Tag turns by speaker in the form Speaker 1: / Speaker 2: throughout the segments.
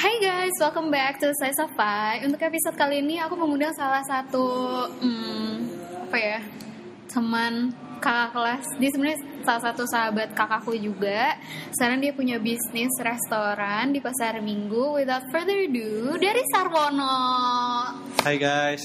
Speaker 1: Hai guys, welcome back to Slice of Pie. Untuk episode kali ini aku mengundang salah satu teman kakak kelas. Dia sebenarnya salah satu sahabat kakakku juga. Sekarang dia punya bisnis restoran di Pasar Minggu. Without further ado, dari Sarwono.
Speaker 2: Hai guys.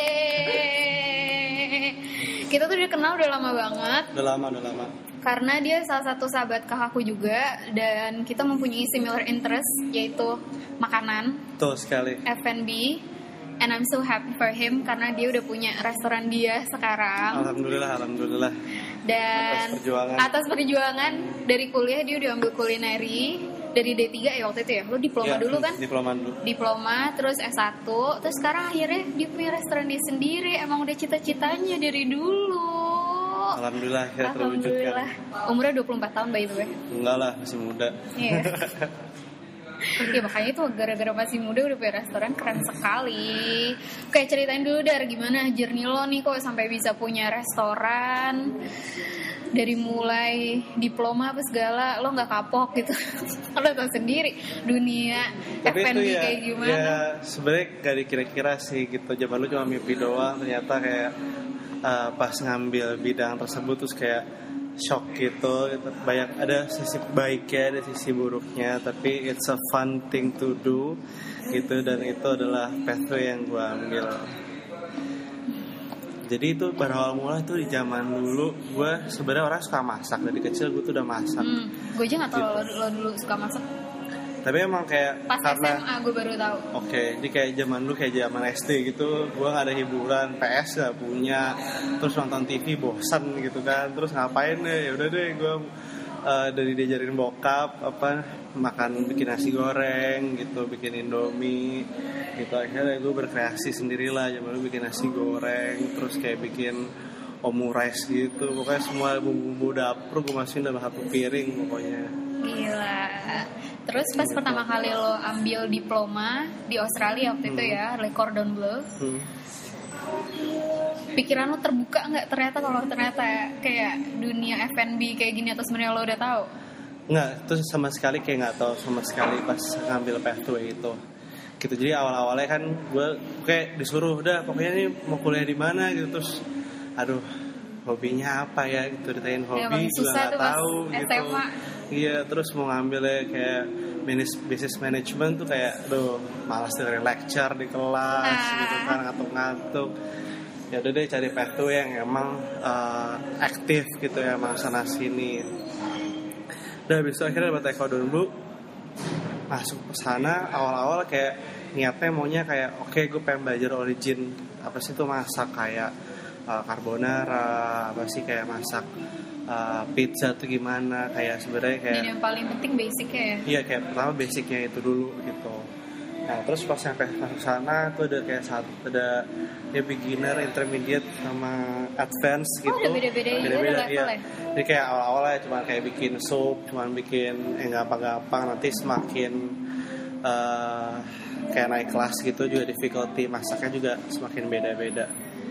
Speaker 1: Yeay. Kita tuh udah kenal udah lama banget.
Speaker 2: Udah lama.
Speaker 1: Karena dia salah satu sahabat kakakku juga. Dan kita mempunyai similar interest, yaitu makanan.
Speaker 2: Tuh sekali.
Speaker 1: F&B. And I'm so happy for him karena dia udah punya restoran dia sekarang.
Speaker 2: Alhamdulillah.
Speaker 1: Dan atas perjuangan dari kuliah dia udah ambil kulineri dari D3 ya waktu itu ya. Lo diploma dulu kan? Diploma terus S1, terus sekarang akhirnya dia punya restoran dia sendiri. Emang udah cita-citanya dari dulu.
Speaker 2: Alhamdulillah akhirnya terwujudkan.
Speaker 1: Umurnya 24 tahun by the way.
Speaker 2: Enggak lah, masih muda.
Speaker 1: Iya. Ya makanya itu gara-gara masih muda udah punya restoran, keren sekali. Oke, ceritain dulu Dar, gimana journey lo nih kok sampai bisa punya restoran. Dari mulai diploma apa segala, lo gak kapok gitu. Lo tau sendiri dunia F&B
Speaker 2: ya,
Speaker 1: kayak gimana.
Speaker 2: Ya sebenarnya gak dikira-kira sih gitu. Zaman lu cuma mimpi doang, ternyata kayak pas ngambil bidang tersebut terus kayak shock gitu. Banyak, ada sisi baiknya, ada sisi buruknya, tapi it's a fun thing to do gitu, dan itu adalah pathway yang gue ambil. Jadi itu pada awal mula tuh di zaman dulu gue sebenarnya orang suka masak, dari kecil gue tuh udah masak.
Speaker 1: Gue aja nggak tahu
Speaker 2: gitu.
Speaker 1: lo dulu suka masak.
Speaker 2: Tapi emang kayak
Speaker 1: pas
Speaker 2: karena
Speaker 1: SMA gue baru tahu.
Speaker 2: Oke, ini kayak zaman dulu, kayak zaman SD gitu, gue nggak ada hiburan, PS nggak punya, terus nonton TV bosan gitu kan, terus ngapain deh? Ya udah deh, gue dari diajarin bokap makan, bikin nasi goreng gitu, bikin indomie gitu. Akhirnya gue berkreasi sendirilah, zaman dulu bikin nasi goreng, terus kayak bikin omurice gitu, pokoknya semua bumbu dapur gue masukin dalam satu piring pokoknya.
Speaker 1: Gila. Terus pas pertama kali lo ambil diploma di Australia waktu itu ya, Le Cordon Bleu, pikiran lo terbuka nggak ternyata kalau ternyata kayak dunia F&B kayak gini, atau sebenarnya lo udah tahu?
Speaker 2: Nggak, itu sama sekali kayak nggak tahu sama sekali pas ngambil pathway itu. Gitu, jadi awal-awalnya kan gue kayak disuruh udah pokoknya nih mau kuliah di mana gitu, terus aduh hobinya apa ya gitu, ditanyain hobi juga nggak tahu gitu. SMA. Iya, terus mau ngambilnya kayak business management tuh kayak aduh malas dengerin lecture di kelas gitu kan, ngantuk-ngantuk. Ya udah deh cari pathway yang emang aktif gitu ya, emang sana sini. Udah habis itu akhirnya dapat Cordon Bleu, masuk ke sana. Awal-awal kayak niatnya maunya kayak oke, gue pengen belajar origin apa sih tuh masak, kayak carbonara, apa sih kayak masak pizza tuh gimana, kayak sebenarnya kayak.
Speaker 1: Dan yang paling penting basicnya ya.
Speaker 2: Iya, kayak pertama basicnya itu dulu gitu. Nah terus pas sampai masuk sana tuh ada kayak ada ya beginner, intermediate sama advance gitu.
Speaker 1: Udah beda-beda
Speaker 2: iya.
Speaker 1: levelnya.
Speaker 2: Jadi kayak awal-awalnya cuma kayak bikin sup, cuma bikin gampang-gampang, nanti semakin kayak naik kelas gitu juga difficulty masaknya juga semakin beda-beda.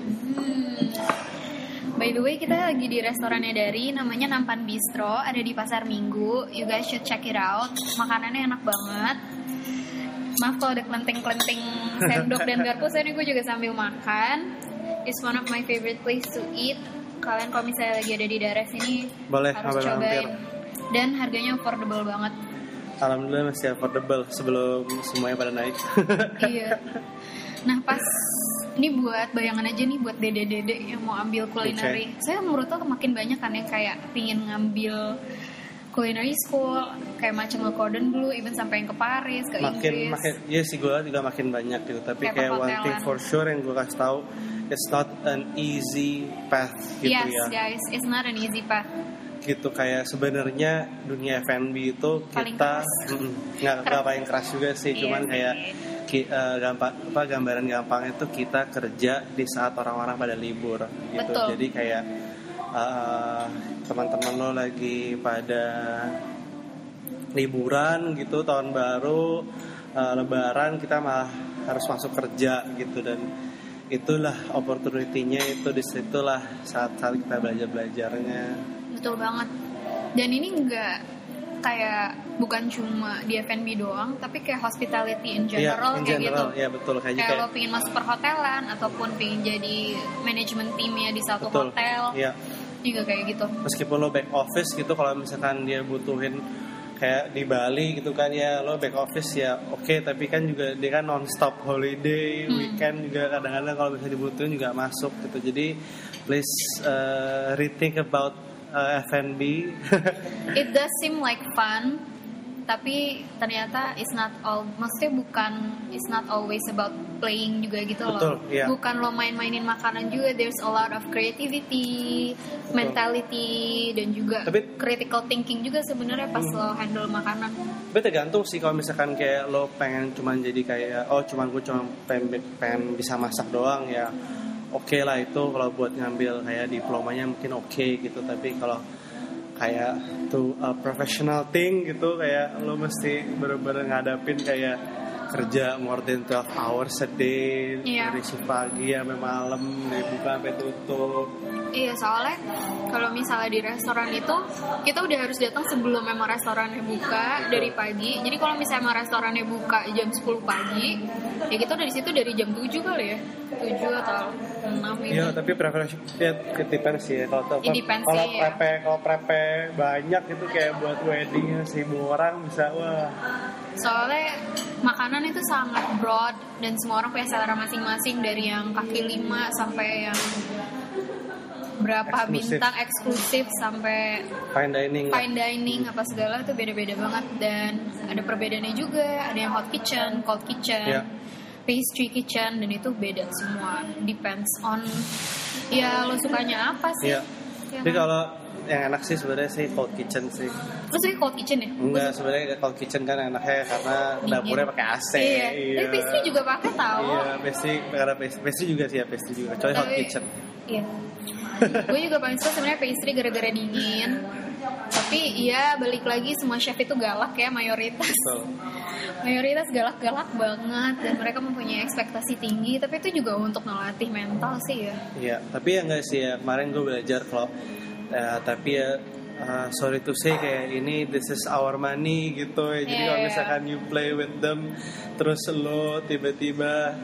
Speaker 1: By the way, kita lagi di restorannya Dari, namanya Nampan Bistro, ada di Pasar Minggu. You guys should check it out. Makanannya enak banget. Maaf kalau ada kelenting-kelenting sendok dan garpu, soalnya gue juga sambil makan. It's one of my favorite place to eat. Kalian kalau misalnya lagi ada di daerah sini
Speaker 2: boleh
Speaker 1: harus cobain. Dan harganya affordable banget.
Speaker 2: Alhamdulillah masih affordable sebelum semuanya pada naik.
Speaker 1: Iya. Nah pas ini buat bayangan aja nih buat dede-dede yang mau ambil kulineri. Saya menurut lo makin banyak kan yang kayak pingin ngambil culinary school, kayak macam Le Cordon Bleu, even sampai yang ke Paris, ke Inggris.
Speaker 2: Makin, ya sih gue juga makin banyak gitu. Tapi kayak one thing for sure yang gue kasih tahu, it's not an easy path gitu.
Speaker 1: Yes,
Speaker 2: ya.
Speaker 1: Yes guys, it's not an easy path.
Speaker 2: Gitu, kayak sebenarnya dunia F&B itu kita nggak paling keras juga sih, cuman kayak gambaran gampangnya itu kita kerja di saat orang-orang pada libur gitu.
Speaker 1: Betul.
Speaker 2: Jadi kayak teman-teman lo lagi pada liburan gitu, tahun baru, lebaran, kita malah harus masuk kerja gitu, dan itulah opportunity-nya, itu disitulah saat kita belajarnya.
Speaker 1: Betul banget. Dan ini enggak kayak bukan cuma di F&B doang, tapi kayak hospitality in general,
Speaker 2: in
Speaker 1: kayak
Speaker 2: general,
Speaker 1: gitu.
Speaker 2: Ya betul,
Speaker 1: kayak lo pingin masuk perhotelan ataupun pingin jadi manajemen timnya di satu hotel, juga kayak gitu.
Speaker 2: Meskipun lo back office gitu, kalau misalkan dia butuhin kayak di Bali gitu kan, ya lo back office ya oke, tapi kan juga dia kan non-stop holiday, weekend juga kadang-kadang kalau misalnya dibutuhin juga masuk gitu. Jadi please rethink about F&B.
Speaker 1: It does seem like fun, tapi ternyata it's not always about playing juga gitu loh.
Speaker 2: Betul, iya.
Speaker 1: Bukan lo main-mainin makanan juga, there's a lot of creativity, mentality, dan juga critical thinking juga sebenarnya pas lo handle makanan.
Speaker 2: Tapi tergantung sih, kalau misalkan kayak lo pengen cuman jadi kayak gue cuma pengen bisa masak doang ya. Oke lah itu kalau buat ngambil kayak diplomanya mungkin oke gitu, tapi kalau kayak professional thing gitu, kayak lo mesti bener-bener ngadapin kayak kerja more than 12 hours a day, dari shift pagi sampai malam, dari buka sampai tutup.
Speaker 1: Iya, soalnya kalau misalnya di restoran itu kita udah harus datang sebelum memang restorannya buka dari pagi. Jadi kalau misalnya emang restorannya buka jam 10 pagi, ya kita udah di situ dari jam 7 kali ya. 7 atau 6 gitu.
Speaker 2: Iya, tapi preferensi ya depends sih ya. Kalau prepe banyak itu kayak buat wedding 1.000 orang bisa, wah.
Speaker 1: Soalnya makanan itu sangat broad dan semua orang punya selera masing-masing, dari yang kaki 5 sampai yang berapa bintang eksklusif sampai fine dining apa segala, itu beda-beda banget. Dan ada perbedaannya juga, ada yang hot kitchen, cold kitchen, pastry kitchen, dan itu beda semua, depends on ya lo sukanya apa sih.
Speaker 2: Tapi kalau yang enak sih sebenarnya sih cold kitchen sih.
Speaker 1: Terus sih cold kitchen ya?
Speaker 2: Enggak, sebenarnya cold kitchen kan enaknya karena dapurnya pakai AC.
Speaker 1: Iya. Tapi pastry juga pakai tahu.
Speaker 2: Iya, pastry juga sih ya, pastry juga. Kecuali hot kitchen.
Speaker 1: Iya. Gue juga paling suka sebenarnya pastry gara-gara dingin. Tapi ya balik lagi, semua chef itu galak ya, mayoritas. Betul. Mayoritas galak-galak banget dan mereka mempunyai ekspektasi tinggi, tapi itu juga untuk ngelatih mental sih ya.
Speaker 2: Iya, tapi ya enggak sih ya, kemarin gue belajar kalau tapi ya sorry to say kayak ini this is our money gitu ya. Jadi kalau misalkan you play with them terus lo tiba-tiba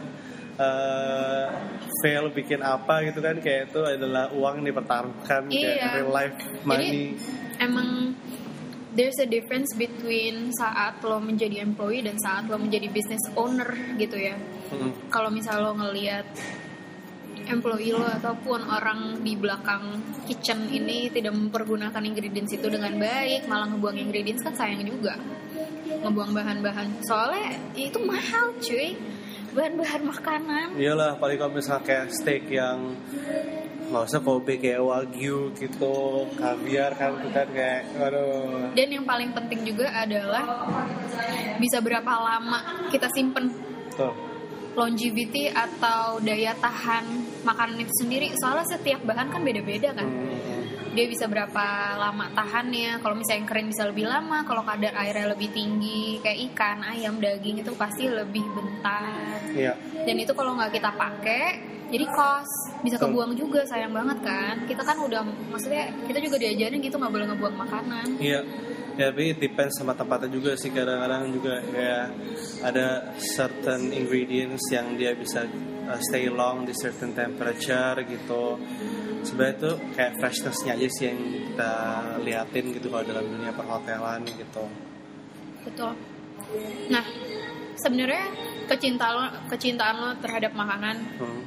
Speaker 2: fail bikin apa gitu kan, kayak itu adalah uang yang dipertaruhkan, kayak real life money.
Speaker 1: Jadi emang there's a difference between saat lo menjadi employee dan saat lo menjadi business owner gitu ya. Kalau misal lo ngelihat employee lo ataupun orang di belakang kitchen ini tidak mempergunakan ingredients itu dengan baik, malah ngebuang ingredients, kan sayang juga ngebuang bahan-bahan, soalnya itu mahal cuy, bahan-bahan makanan.
Speaker 2: Iyalah, paling kalau misalnya kayak steak yang nggak usah Kobe, kayak Wagyu gitu, kaviar kan kayak aduh. Dan
Speaker 1: yang paling penting juga adalah bisa berapa lama kita simpen.
Speaker 2: Betul.
Speaker 1: Longevity atau daya tahan makanan itu sendiri, soalnya setiap bahan kan beda-beda kan. Dia bisa berapa lama tahannya. Kalau misalnya yang kering bisa lebih lama, kalau kadar airnya lebih tinggi kayak ikan, ayam, daging itu pasti lebih bentar.
Speaker 2: Iya.
Speaker 1: Dan itu kalau nggak kita pakai jadi cost, bisa kebuang juga, sayang banget kan. Kita kan udah, maksudnya kita juga diajarin gitu nggak boleh ngebuang makanan.
Speaker 2: Iya. Ya, tapi it depends sama tempatnya juga sih. Kadang-kadang juga kayak ada certain ingredients yang dia bisa stay long di certain temperature gitu. Sebenarnya itu kayak freshness-nya aja sih yang kita liatin gitu kalau dalam dunia perhotelan gitu.
Speaker 1: Betul. Nah, sebenarnya kecintaan lo terhadap makanan,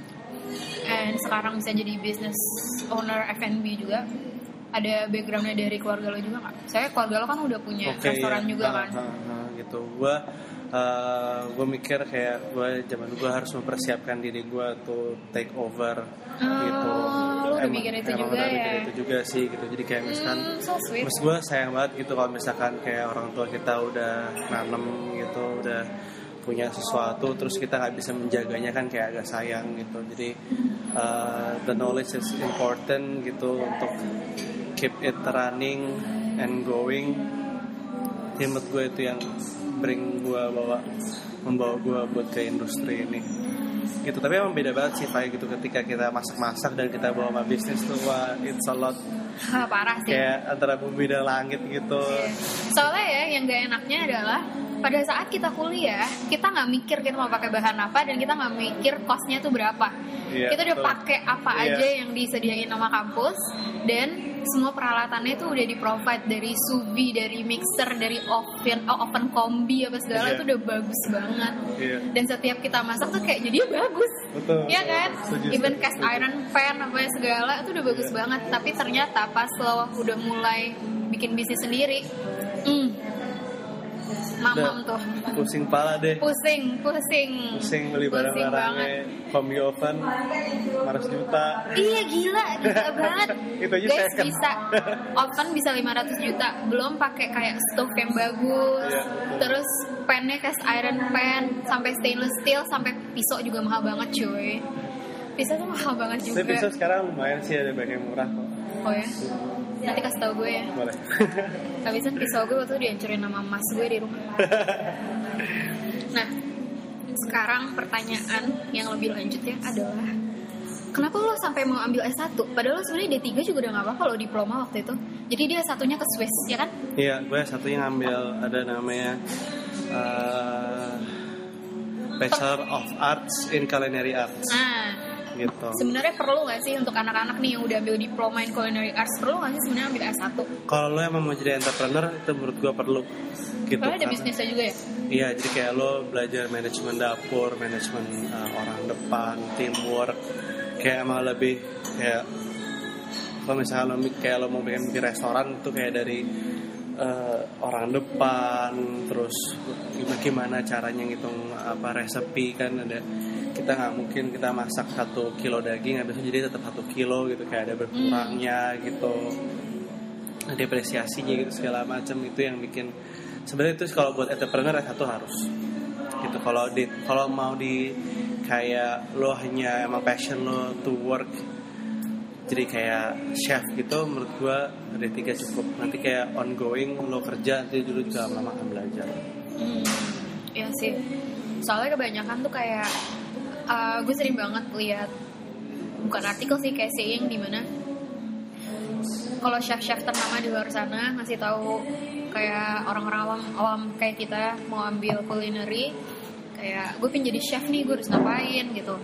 Speaker 1: and sekarang bisa jadi business owner F&B juga, ada backgroundnya dari keluarga lo juga nggak? Saya keluarga lo kan udah punya restoran juga kan?
Speaker 2: Gitu. Gue mikir kayak gue zaman gue harus mempersiapkan diri gue to take over gitu.
Speaker 1: Lo udah mikir itu juga ya?
Speaker 2: Mikir itu juga sih gitu. Jadi kayak misalkan, mas gue sayang banget gitu kalau misalkan kayak orang tua kita udah nanem gitu, udah punya sesuatu terus kita nggak bisa menjaganya, kan kayak agak sayang gitu. Jadi the knowledge is important gitu untuk keep it running and going. Menurut gue itu yang membawa gue buat ke industri ini. gitu. Tapi emang beda banget sih Fai gitu ketika kita masak-masak dan kita bawa sama bisnis tuh, wah it's a lot.
Speaker 1: Parah sih.
Speaker 2: Kayak antara bumi dan langit gitu.
Speaker 1: Soalnya ya yang gak enaknya adalah pada saat kita kuliah, kita nggak mikir kita mau pakai bahan apa dan kita nggak mikir costnya tuh berapa. Kita udah pakai apa aja yang disediain sama kampus dan semua peralatannya tuh udah di-provide dari sous vide, dari mixer, dari oven kombi apa segala itu udah bagus banget. Dan setiap kita masak tuh kayak jadi bagus.
Speaker 2: Betul.
Speaker 1: Iya kan? Even cast iron pan apa segala itu udah bagus banget. Tapi ternyata pas lo udah mulai bikin bisnis sendiri, mamam tuh
Speaker 2: pusing pala deh,
Speaker 1: pusing
Speaker 2: beli barang-barangnya, kombi oven 500 juta.
Speaker 1: Iya gila banget.
Speaker 2: Itu aja
Speaker 1: guys,
Speaker 2: second.
Speaker 1: bisa oven bisa 500 juta, belum pakai kayak stove yang bagus. Terus pannya cast iron pan, sampai stainless steel, sampai pisau juga mahal banget cuy. Pisau tuh mahal banget juga.
Speaker 2: Tapi pisau sekarang lumayan sih, ada banyak yang murah kok.
Speaker 1: Oh ya? Nanti kasih tau gue ya.
Speaker 2: Boleh.
Speaker 1: Habisan pisau gue waktu dihancurin sama mas gue di rumah. Nah, sekarang pertanyaan yang lebih lanjutnya adalah kenapa lo sampai mau ambil S1? Padahal lo sebenarnya D3 juga udah gak apa-apa lo diploma waktu itu. Jadi dia S1-nya ke Swiss, ya kan?
Speaker 2: Iya, gue S1-nya ngambil ada namanya Bachelor of Arts in Culinary Arts.
Speaker 1: Nah,
Speaker 2: gitu.
Speaker 1: Sebenarnya perlu nggak sih untuk anak-anak nih yang udah ambil diploma in culinary arts, perlu nggak sih sebenarnya ambil S1?
Speaker 2: Kalau lo emang mau jadi entrepreneur itu menurut gue perlu. Gitu.
Speaker 1: Karena ada bisnisnya juga ya?
Speaker 2: Iya, jadi kayak lo belajar manajemen dapur, manajemen orang depan, teamwork. Kayak emang lebih kayak kalau misalnya lo mau bikin restoran itu kayak dari orang depan, terus gimana caranya ngitung apa resepi kan ada. Kita nggak mungkin kita masak 1 kilo daging habis itu jadi tetap 1 kilo gitu, kayak ada berkurangnya gitu, depresiasinya gitu segala macam. Itu yang bikin sebenarnya itu kalau buat entrepreneur S1 harus gitu. Kalau mau di kayak lo hanya emang passion lo to work jadi kayak chef gitu, menurut gua D3 cukup. Nanti kayak ongoing lo kerja nanti dulu juga lama akan belajar.
Speaker 1: Iya sih, soalnya kebanyakan tuh kayak gue sering banget lihat, bukan artikel sih, kayak saying di mana kalau chef-chef ternama di luar sana ngasih tahu kayak orang-orang awam kayak kita mau ambil culinary, kayak gue pengen jadi chef nih, gue harus ngapain gitu.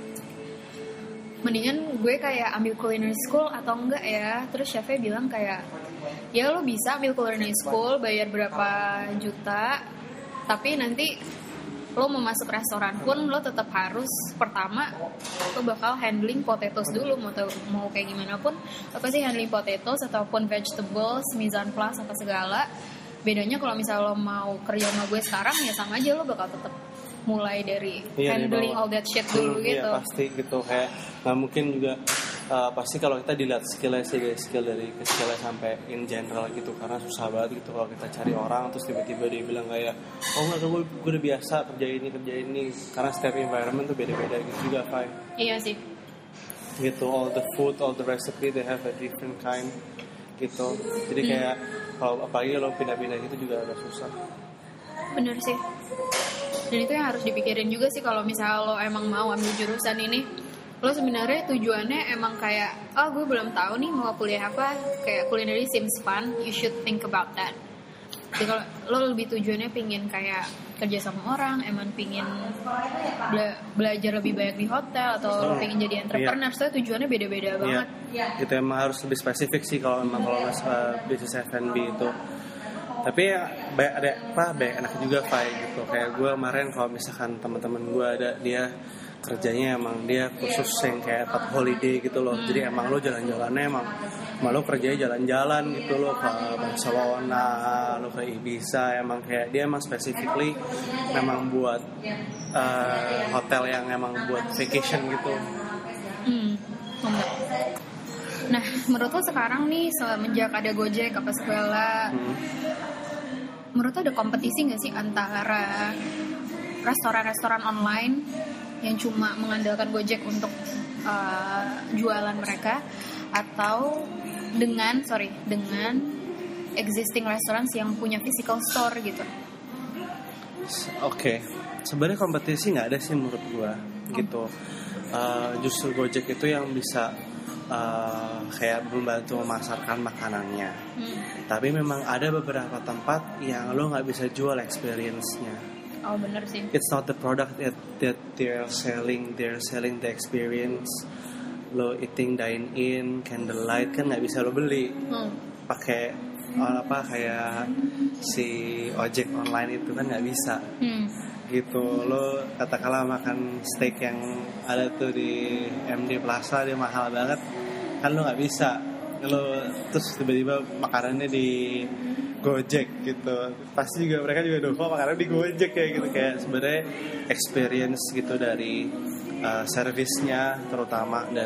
Speaker 1: Mendingan gue kayak ambil culinary school atau enggak ya. Terus chefnya bilang kayak ya lo bisa ambil culinary school, bayar berapa juta, tapi nanti lo mau masuk restoran pun lo tetap harus pertama lo bakal handling potatoes dulu, mau kayak gimana pun apa sih handling potatoes ataupun vegetables, mise en place apa segala. Bedanya kalau misalnya lo mau kerja sama gue sekarang ya sama aja, lo bakal tetap mulai dari handling all that shit dulu gitu.
Speaker 2: Iya pasti gitu, kayak nggak mungkin juga pasti kalau kita dilihat skillnya sih, dari skillnya sampai in general gitu, karena susah banget gitu kalau kita cari orang terus tiba-tiba dia bilang kayak oh enggak, gue udah biasa kerja ini, karena setiap environment tuh beda-beda gitu juga Fai.
Speaker 1: Iya sih
Speaker 2: gitu, all the food, all the recipe they have a different kind gitu. Jadi kayak kalau apalagi lo pindah-pindah gitu juga agak susah.
Speaker 1: Bener sih. Dan itu yang harus dipikirin juga sih kalau misalnya lo emang mau ambil jurusan ini. Lo sebenarnya tujuannya emang kayak gue belum tahu nih mau kuliah apa, kayak culinary seems fun, you should think about that. Jadi kalau lo lebih tujuannya pingin kayak kerja sama orang, emang pingin belajar lebih banyak di hotel, atau pingin jadi entrepreneur, soalnya tujuannya beda-beda banget.
Speaker 2: Itu emang harus lebih spesifik sih kalau bisnis F&B itu. Tapi ya banyak enak juga Fai gitu. Kayak gue kemarin kalau misalkan teman-teman gue ada, dia kerjanya emang dia khusus yang kayak tempat holiday gitu loh. Jadi emang lo jalan-jalannya emang lo kerjanya jalan-jalan gitu loh, ke Barcelona, lo ke Ibiza. Emang kayak dia emang specifically memang buat hotel yang emang buat vacation gitu.
Speaker 1: Nah, menurut lo sekarang nih semenjak ada Gojek apa segala, menurut lo ada kompetisi nggak sih antara restoran-restoran online yang cuma mengandalkan Gojek untuk jualan mereka, atau dengan existing restaurants yang punya physical store gitu?
Speaker 2: Oke, sebenarnya kompetisi nggak ada sih menurut gua gitu. Justru Gojek itu yang bisa kayak membantu memasarkan makanannya. Tapi memang ada beberapa tempat yang lo nggak bisa jual experience-nya.
Speaker 1: Oh bener sih.
Speaker 2: It's not the product that they're selling the experience. Lo eating dine in, candlelight kan nggak bisa lo beli. Pakai kayak si ojek online itu kan nggak bisa. Gitu, lo katakanlah makan steak yang ada tuh di MD Plaza, dia mahal banget, kan lo nggak bisa. Lo terus tiba-tiba makanannya di Gojek gitu, pasti juga mereka juga dovo makanan di Gojek kayak gitu. Kayak sebenarnya experience gitu dari servisnya terutama, dan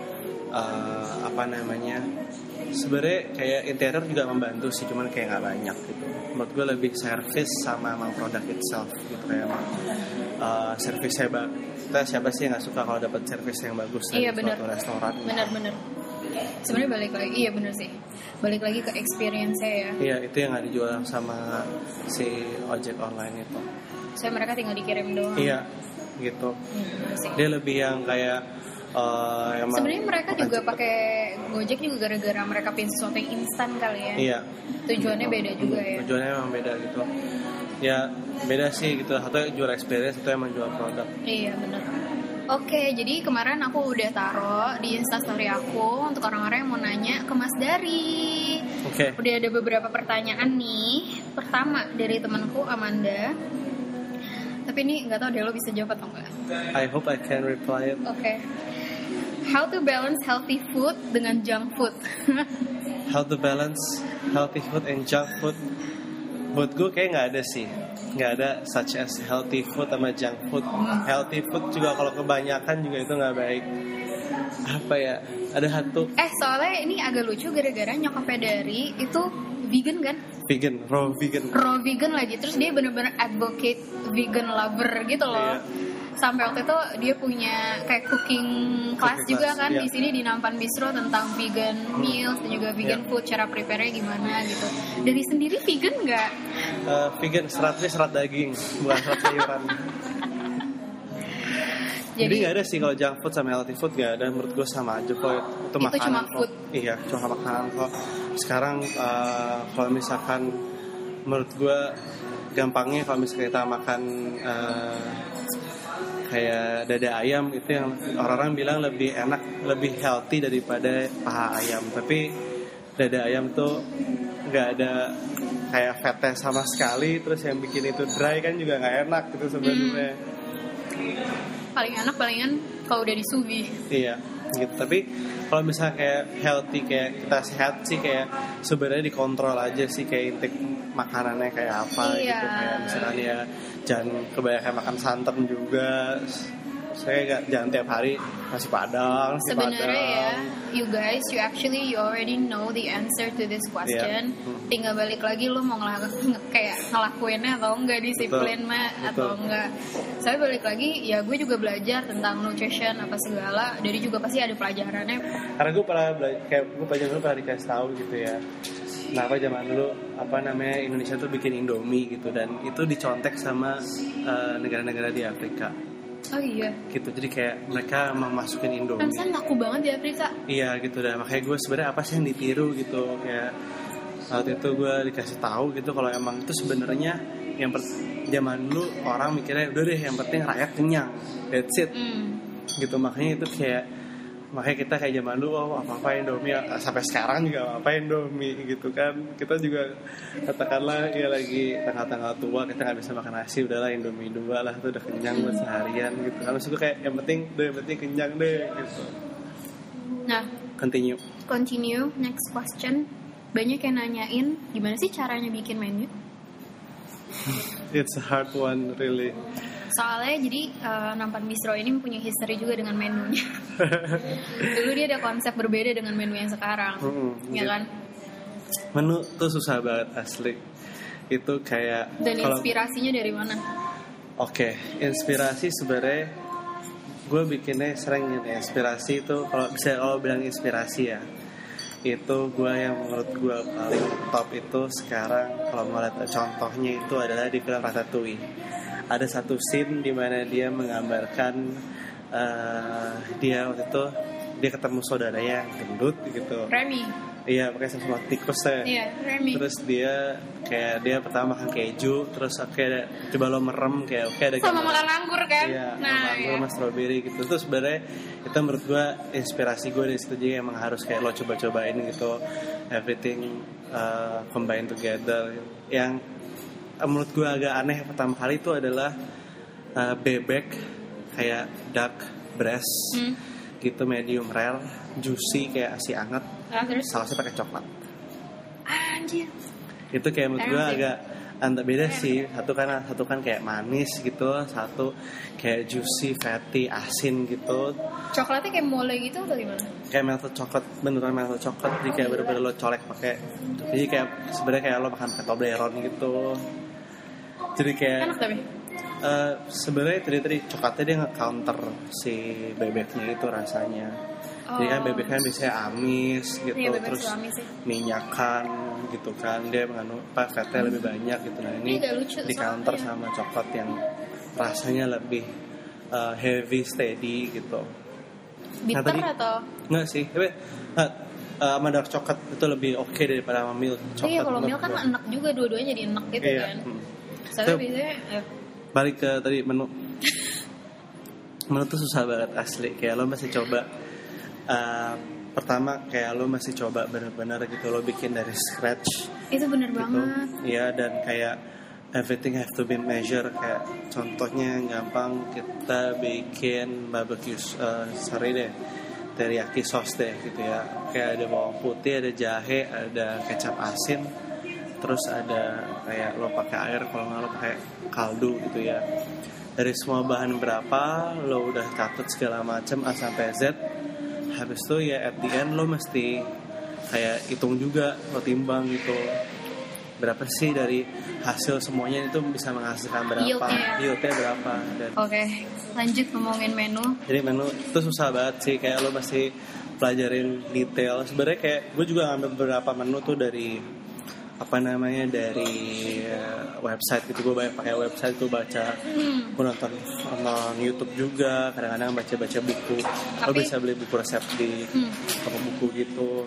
Speaker 2: sebenarnya kayak interior juga membantu sih, cuman kayak nggak banyak gitu. Menurut gue lebih service sama emang produk itself gitu, kayak emang service hebat. Kita siapa sih yang nggak suka kalau dapat service yang bagus dari suatu restoran?
Speaker 1: Bener. Sebenarnya balik lagi, iya bener sih. Balik lagi ke experience-nya ya.
Speaker 2: Iya, itu yang nggak dijual sama si ojek online itu.
Speaker 1: Soalnya mereka tinggal dikirim doang.
Speaker 2: Iya, gitu. Dia lebih yang kayak
Speaker 1: sebenarnya mereka juga pakai Gojek juga gara-gara mereka pengen sesuatu yang instan kali ya.
Speaker 2: Iya.
Speaker 1: Tujuannya beda juga ya.
Speaker 2: Tujuannya memang beda gitu. Ya beda sih gitu. Atau jual experience, itu emang jual produk.
Speaker 1: Iya benar. Oke, jadi kemarin aku udah taruh di Instastory aku untuk orang-orang yang mau nanya ke Mas Dari.
Speaker 2: Oke.
Speaker 1: Udah ada beberapa pertanyaan nih. Pertama dari temanku Amanda. Tapi ini nggak tahu deh lo bisa jawab atau enggak.
Speaker 2: I hope I can reply it.
Speaker 1: Oke. How to balance healthy food dengan junk food?
Speaker 2: How to balance healthy food and junk food? Buat gue kayak nggak ada sih. Nggak ada such as healthy food sama junk food. Healthy food juga kalau kebanyakan juga itu nggak baik. Apa ya? Ada satu.
Speaker 1: Soalnya ini agak lucu gara-gara nyokapnya Dari itu vegan kan?
Speaker 2: Vegan, raw vegan
Speaker 1: lagi. Terus dia bener-bener advocate vegan lover gitu loh.
Speaker 2: Yeah.
Speaker 1: Sampai waktu itu dia punya kayak cooking class juga kan di sini di Nampan Bistro tentang vegan meals dan juga vegan food, cara prepare-nya gimana gitu. Dari sendiri vegan nggak?
Speaker 2: Vegan, seratnya serat daging, bukan serat sayuran. Jadi nggak ada sih kalau junk food sama healthy food, nggak ada. Menurut gue sama aja kok, itu makanan
Speaker 1: cuma
Speaker 2: kok.
Speaker 1: Food.
Speaker 2: Iya, cuma makanan kok. Sekarang kalau misalkan menurut gue gampangnya kalau misalnya kita makan kayak dada ayam, itu yang orang-orang bilang lebih enak, lebih healthy daripada paha ayam. Tapi dada ayam tuh nggak ada kayak fatnya sama sekali, terus yang bikin itu dry kan juga nggak enak gitu sebenarnya.
Speaker 1: Paling enak palingan kalau udah disubi.
Speaker 2: Iya gitu. Tapi kalau misalnya kayak healthy, kayak kita sehat sih, kayak sebenarnya dikontrol aja sih, kayak intake makanannya kayak apa gitu. Kayak misalnya ya jangan kebanyakan makan santan juga. Saya jangan tiap hari nasi padang.
Speaker 1: Sebenarnya ya, you guys, you already know the answer to this question. Tinggal balik lagi lo mau ngelakuinnya atau enggak, disiplin atau enggak. Saya balik lagi, ya gue juga belajar tentang nutrition apa segala. Dari juga pasti ada pelajarannya.
Speaker 2: Karena gue pernah dikasih tahu gitu ya. Kenapa zaman dulu Indonesia tuh bikin Indomie gitu, dan itu dicontek sama negara-negara di Afrika.
Speaker 1: Oh iya.
Speaker 2: Gitu, jadi kayak mereka memasukin Indomie.
Speaker 1: Kan laku banget di Afrika.
Speaker 2: Iya gitu dah. Makanya gue sebenarnya apa sih yang ditiru gitu, kayak waktu itu gue dikasih tahu gitu kalau emang itu sebenarnya yang zaman dulu orang mikirnya udah deh yang penting rakyat kenyang, that's it. Gitu, makanya itu makanya kita kayak zaman dulu apa Indomie, sampai sekarang juga apa Indomie gitu kan. Kita juga katakanlah ya lagi tengah-tengah tua, kita nggak bisa makan nasi, udahlah Indomie 2 lah, itu udah kenyang buat seharian gitu. Habis itu kayak yang penting kenyang deh gitu.
Speaker 1: Nah, continue next question. Banyak yang nanyain gimana sih caranya bikin menu.
Speaker 2: It's a hard one really.
Speaker 1: Soalnya jadi Nampan Bistro ini mempunyai history juga dengan menunya. Dulu dia ada konsep berbeda dengan menu yang sekarang, ya kan?
Speaker 2: Menu tuh susah banget asli. Itu kayak. Dan
Speaker 1: inspirasinya dari mana?
Speaker 2: Oke, inspirasi sebenarnya gue bikinnya sering gitu. Inspirasi itu kalau bilang inspirasi ya, itu gue yang menurut gue paling top itu sekarang kalau mau lihat contohnya itu adalah di film Ratatouille. Ada satu scene di mana dia menggambarkan dia waktu itu dia ketemu saudaranya yang gendut gitu.
Speaker 1: Remy.
Speaker 2: Iya, pakai sama tikusnya.
Speaker 1: Iya, Remy.
Speaker 2: Terus dia pertama makan keju, terus kayak coba lo merem kayak oke ada
Speaker 1: sama makan anggur kan.
Speaker 2: Iya,
Speaker 1: nah,
Speaker 2: anggur sama strawberry gitu. Terus sebenarnya itu menurut gue inspirasi gue dari situ, jadi emang harus kayak lo coba-cobain gitu, everything combine together. Yang menurut gue agak aneh pertama kali itu adalah bebek kayak duck breast gitu, medium rare, juicy kayak asi anget,
Speaker 1: terus
Speaker 2: sausnya pakai coklat.
Speaker 1: Anjir.
Speaker 2: Itu kayak menurut gue agak antara beda sih. Satu kan kayak manis gitu, satu kayak juicy, fatty, asin gitu.
Speaker 1: Coklatnya kayak mole gitu atau gimana?
Speaker 2: Kayak melted coklat, beneran melted coklat. Jadi kayak bener-bener lo colek pakai. Jadi kayak sebenarnya kayak lo makan pakai Toblerone gitu. Jadi kayak
Speaker 1: enak tapi
Speaker 2: sebenarnya tadi coklatnya dia nge-counter si bebeknya itu rasanya. Jadi kan bebek kan biasanya amis gitu,
Speaker 1: iya,
Speaker 2: terus minyakan gitu kan, dia mengandung fatnya lebih banyak gitu. Nah ini di counter sama coklat yang rasanya lebih heavy, steady gitu.
Speaker 1: Bitter atau?
Speaker 2: Enggak sih, tapi sama dark coklat itu lebih oke daripada sama milk coklat.
Speaker 1: Iya, kalau milk kan enak juga, dua-duanya jadi enak gitu kan. Soalnya biasanya
Speaker 2: balik ke tadi menu. Menu tuh susah banget asli, kayak lo masih coba pertama kayak lo masih coba benar-benar gitu, lo bikin dari scratch. Itu bener gitu. Banget. Iya, dan kayak everything have to be measured. Kayak contohnya gampang, kita bikin barbecue teriyaki sauce deh gitu ya. Kayak ada bawang putih, ada jahe, ada kecap asin, terus ada kayak lo pakai air, kalau nggak lo pakai kaldu gitu ya. Dari semua bahan berapa lo udah catat segala macam A sampai Z. Habis itu ya at the end lo mesti kayak hitung juga, lo timbang gitu, berapa sih dari hasil semuanya itu bisa menghasilkan berapa, yieldnya berapa.
Speaker 1: Oke, lanjut ngomongin menu.
Speaker 2: Jadi menu itu susah banget sih, kayak lo mesti pelajarin detail. Sebenarnya kayak gue juga ngambil beberapa menu tuh dari dari website gitu. Gue banyak pakai website, gue baca, gue nonton YouTube juga, kadang-kadang baca buku. Lo bisa beli buku resep di toko buku gitu.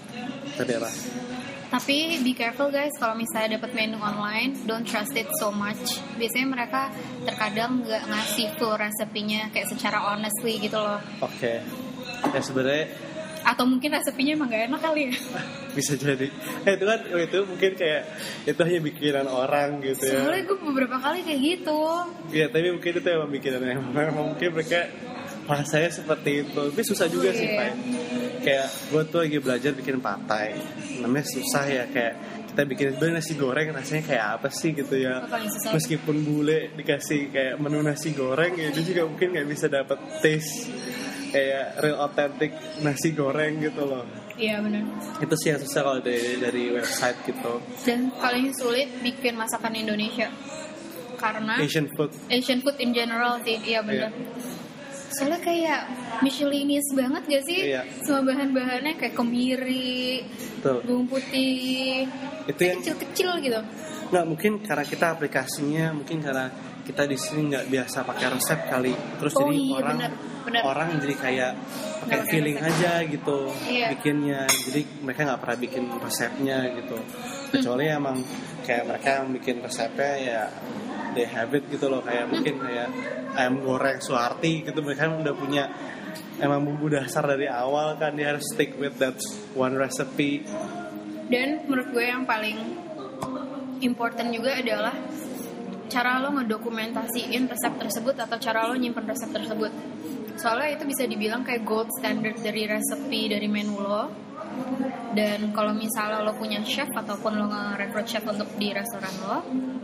Speaker 1: Tapi be careful guys, kalau misalnya dapat menu online, don't trust it so much. Biasanya mereka terkadang nggak ngasih full resepinya kayak secara honestly gitu loh.
Speaker 2: Oke. Ya sebenarnya,
Speaker 1: atau mungkin resepinya emang gak enak kali ya.
Speaker 2: Bisa jadi. Itu mungkin kayak itu hanya pikiran orang gitu ya.
Speaker 1: Soalnya gue beberapa kali kayak gitu.
Speaker 2: Iya, tapi mungkin itu emang pikiran mungkin mereka rasanya seperti itu. Tapi susah juga sih, Pak. Kayak gue tuh lagi belajar bikin patai. Namanya susah ya, kayak kita bikin sebenarnya nasi goreng rasanya kayak apa sih gitu ya. Meskipun bule dikasih kayak menu nasi goreng ya, dia juga mungkin nggak bisa dapet taste kayak real authentic nasi goreng gitu loh.
Speaker 1: Iya benar.
Speaker 2: Itu sih yang susah kalau dari website gitu.
Speaker 1: Dan paling sulit bikin masakan Indonesia karena Asian food in general sih. Iya benar. Soalnya kayak Michelinies banget gak sih?
Speaker 2: Iya.
Speaker 1: Semua bahan-bahannya kayak kemiri, bawang putih, itu yang kecil-kecil gitu.
Speaker 2: Nggak, mungkin karena kita aplikasinya, mungkin karena kita di sini nggak biasa pakai resep kali. Terus jadi orang jadi kayak pakai feeling aja gitu bikinnya. Jadi mereka nggak pernah bikin resepnya gitu. Kecuali emang kayak mereka yang bikin resepnya ya they have it gitu loh, kayak mungkin kayak ayam goreng Suharti gitu, mereka udah punya emang bumbu dasar dari awal kan, dia harus stick with that one recipe.
Speaker 1: Dan menurut gue yang paling important juga adalah cara lo ngedokumentasiin resep tersebut atau cara lo nyimpen resep tersebut. Soalnya itu bisa dibilang kayak gold standard dari resepi dari menu lo. Dan kalau misalnya lo punya chef ataupun lo nge-recruit chef untuk di restoran lo,